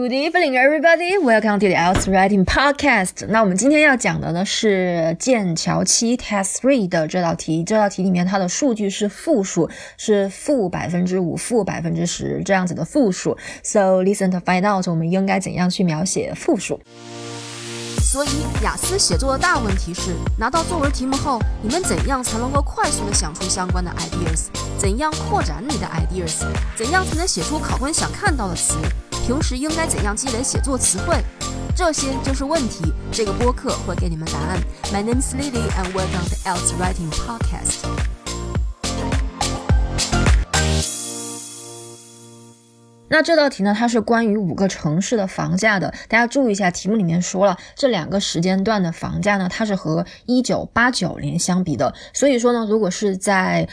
Good evening, everybody. Welcome to the IELTS Writing Podcast. 那我们今天要讲的呢是剑桥7 Test 3的这道题。这道题里面它的数据是复数，是-5%、-10%这样子的复数。So listen to find out 我们应该怎样去描写复数。 所以雅思写作的大问题是，拿到作文题目后，你们怎样才能够快速的想出相关的 ideas？ 怎样扩展你的 ideas？ 怎样才能写出考官想看到的词？平时应该怎样积累写作词汇？这些就是问题。这个播客会给你们答案。My name is Lily and welcome to IELTS Writing Podcast。 那这道题呢，它是关于5个城市的房价的。大家注意一下，题目里面说了，这2个时间段的房价呢，它是和1989年相比的。所以说呢，如果是在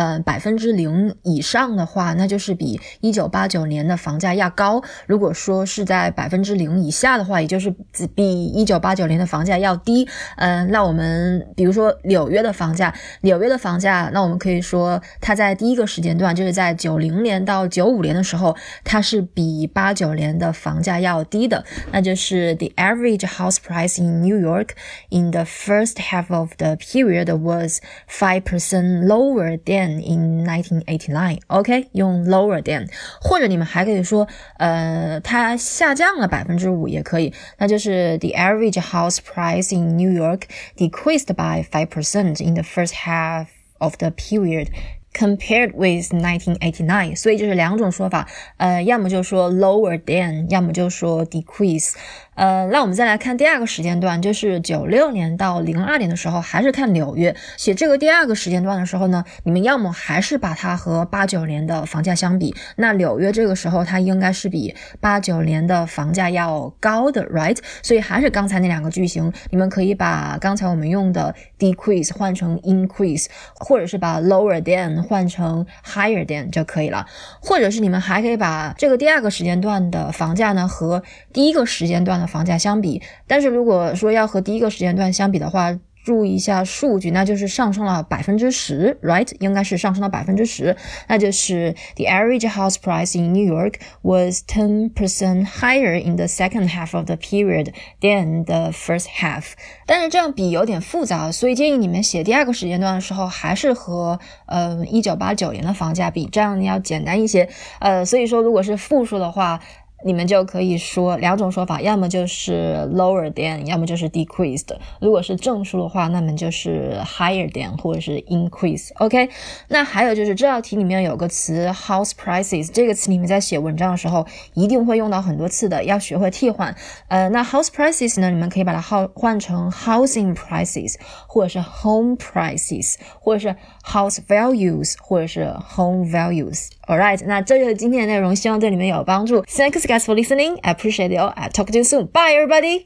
0% 以上的话，那就是比1989年的房价要高；如果说是在0% 以下的话，也就是比1989年的房价要低。那我们比如说纽约的房价，那我们可以说它在第一个时间段，就是在90年到95年的时候，它是比89年的房价要低的，那就是 The average house price in New York in the first half of the period was 5% lower than in 1989. OK, 用 lower than， 或者你们还可以说它下降了 5% 也可以，那就是 The average house price in New York decreased by 5% in the first half of the period.Compared with 1989， 所以就是2种说法，要么就说 lower than， 要么就说 decrease。那我们再来看第2个时间段，就是96年到02年的时候，还是看纽约。写这个第2个时间段的时候呢，你们要么还是把它和89年的房价相比，那纽约这个时候它应该是比89年的房价要高的 right？ 所以还是刚才那2个句型，你们可以把刚才我们用的 decrease 换成 increase， 或者是把 lower than换成 higher than 就可以了，或者是你们还可以把这个第2个时间段的房价呢和第1个时间段的房价相比，但是如果说要和第1个时间段相比的话，注意一下数据，那就是上升了 10% right？ 应该是上升了 10%， 那就是 The average house price in New York was 10% higher in the second half of the period than the first half。 但是这样比有点复杂，所以建议你们写第2个时间段的时候还是和1989年的房价比，这样要简单一些。所以说如果是复数的话，你们就可以说2种说法，要么就是 lower than， 要么就是 decreased。 如果是正数的话，那么就是 higher than 或者是 increase。 OK， 那还有就是这道题里面有个词 house prices， 这个词你们在写文章的时候一定会用到很多次的，要学会替换。那 house prices 呢，你们可以把它换成 housing prices， 或者是 home prices， 或者是 house values， 或者是 home values。Alright， 那这就是今天的内容，希望对你们有帮助。Thanks guys for listening. I appreciate it all. I'll talk to you soon. Bye everybody!